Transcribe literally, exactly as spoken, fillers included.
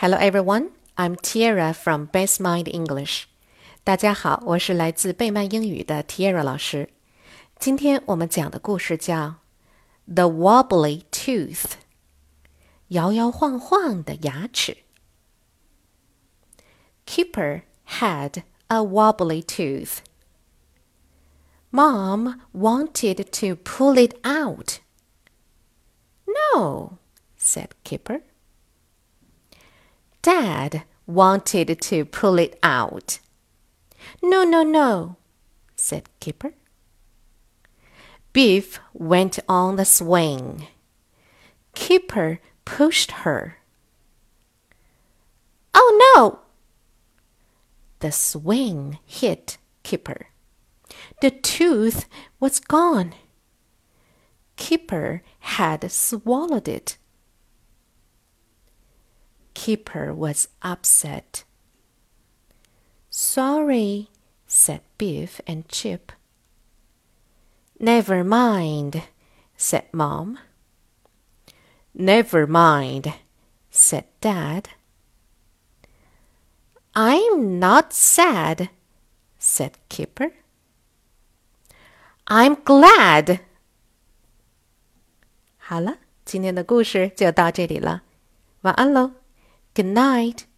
Hello everyone, I'm Tiara from Best Mind English. 大家好，我是来自贝曼英语的 Tiara 老师。今天我们讲的故事叫 The Wobbly Tooth， 摇摇晃晃的牙齿。Kipper had a wobbly tooth. Mom wanted to pull it out. No, said Kipper. Dad wanted to pull it out. No, no, no, said Kipper. Biff went on the swing. Kipper pushed her. Oh no! The swing hit Kipper. The tooth was gone. Kipper had swallowed it. Kipper was upset. Sorry, said Biff and Chip. Never mind, said Mom. Never mind, said Dad. I'm not sad, said Kipper. I'm glad. 好了，今天的故事就到这里了，晚安喽。Good night.